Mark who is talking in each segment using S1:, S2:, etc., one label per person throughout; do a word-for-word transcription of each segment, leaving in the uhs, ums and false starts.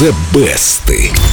S1: The Best.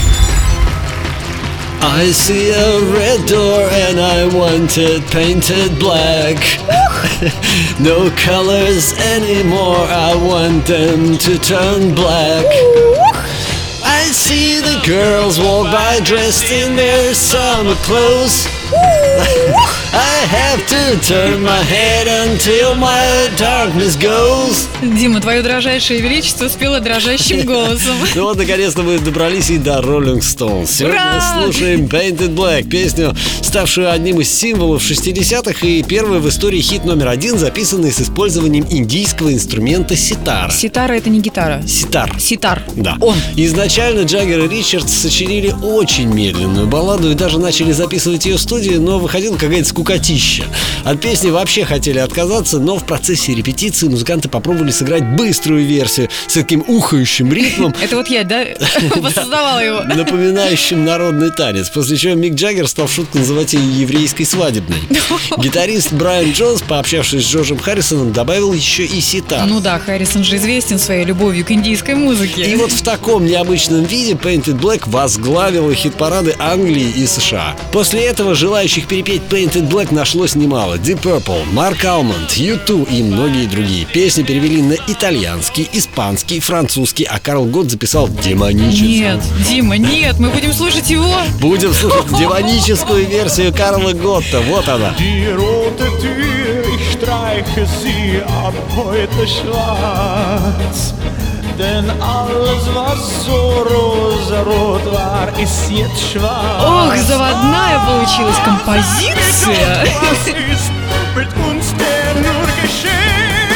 S2: I see a red door and I want it painted black. No colors anymore, I want them to turn black. I see the girls walk by dressed in their summer clothes. I have to turn my head until my darkness goes.
S3: Дима, твое дрожайшее величество спело дрожащим голосом.
S2: Ну вот, наконец-то мы добрались и до Rolling Stones. Сегодня
S3: Ура!
S2: слушаем Painted Black, песню, ставшую одним из символов шестидесятых и первый в истории хит номер один, записанный с использованием индийского инструмента ситара.
S3: Ситара — это не гитара.
S2: Ситар.
S3: Ситар.
S2: Да.
S3: Он.
S2: Изначально Джаггер и Ричардс сочинили очень медленную балладу и даже начали записывать ее в студии, но выходила какая-то скукотища. От песни вообще хотели отказаться, но в процессе репетиции музыканты попробовали сыграть быструю версию с таким ухающим ритмом.
S3: Это вот я, да, воссоздавала его.
S2: Напоминающим народный танец. После чего Мик Джаггер стал в шутку называть ее еврейской свадебной. Гитарист Брайан Джонс, пообщавшись с Джорджем Харрисоном, добавил еще и ситар.
S3: Ну да, Харрисон же известен своей любовью к индийской музыке.
S2: И вот в таком необычном виде Painted Black возглавила хит-парады Англии и США. После этого желающих перепеть Painted Black нашлось немало. Deep Purple, Марк Алмонд, ю ту и многие другие. Песни перевели на итальянский, испанский, французский, а Карл Готт записал демоническую.
S3: Нет, Дима, нет, мы будем слушать его.
S2: Будем слушать демоническую версию Карла Готта. Вот она.
S4: Die rote Tür, ich streiche sie ab heute schwarz. Denn alles, was so rosarot war, ist jetzt schwarz.
S3: Ох, заводная получилась композиция.
S4: Was ist mit uns denn nur geschehen?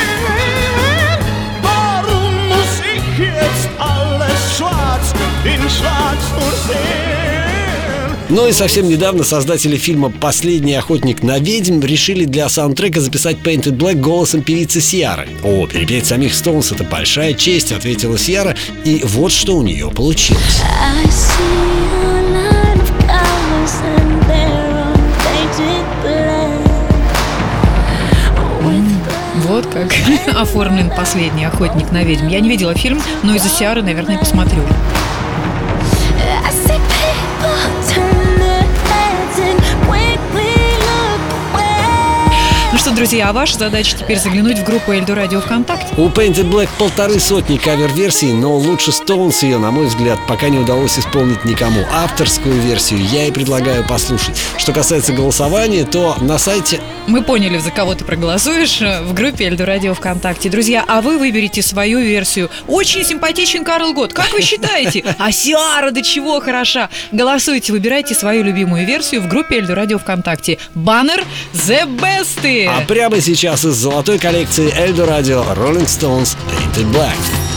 S4: Warum muss ich jetzt alles schwarz in schwarz nur sehen?
S2: Ну и совсем недавно создатели фильма «Последний охотник на ведьм» решили для саундтрека записать Painted Black голосом певицы Сиары. О, перепеть самих Stones — это большая честь, ответила Сиара, и вот что у нее получилось.
S3: Вот как оформлен «Последний охотник на ведьм». Я не видела фильм, но из-за Сиары, наверное, посмотрю. Ну что, друзья, а ваша задача теперь заглянуть в группу Эльдо Радио ВКонтакте.
S2: У Painted Black полторы сотни кавер-версий, но лучше Stones ее, на мой взгляд, пока не удалось исполнить никому. Авторскую версию я и предлагаю послушать. Что касается голосования, то на сайте...
S3: Мы поняли, за кого ты проголосуешь в группе Эльдо Радио ВКонтакте. Друзья, а вы выберите свою версию. Очень симпатичен Карл Готт. Как вы считаете? А Сиара до чего хороша? Голосуйте, выбирайте свою любимую версию в группе Эльдо Радио ВКонтакте. Баннер The Best.
S2: А прямо сейчас из золотой коллекции Эльдо Радио Rolling Stones Painted Black.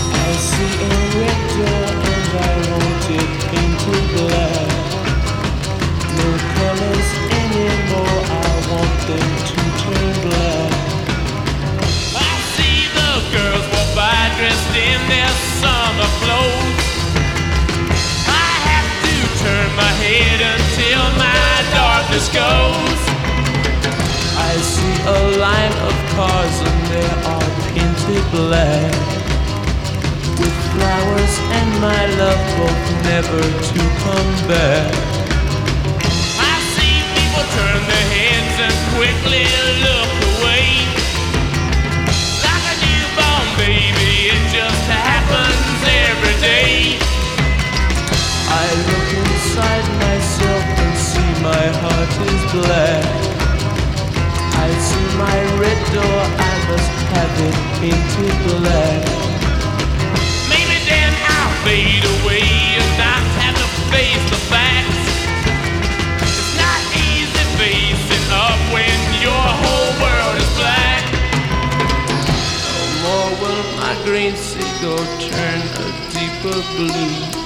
S5: Goes. I see a line of cars and they are painted black, with flowers and my love both never to come back. I see people turn their heads and quickly look away, like a newborn baby, it just happens every day. I look inside myself and see my heart is black. I see my red door, I must have it painted black. Maybe then I'll fade away and not have to face the facts. It's not easy facing up when your whole world is black. No more will my green seagull turn a deeper blue.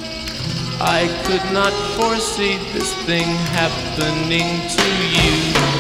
S5: I could not foresee this thing happening to you.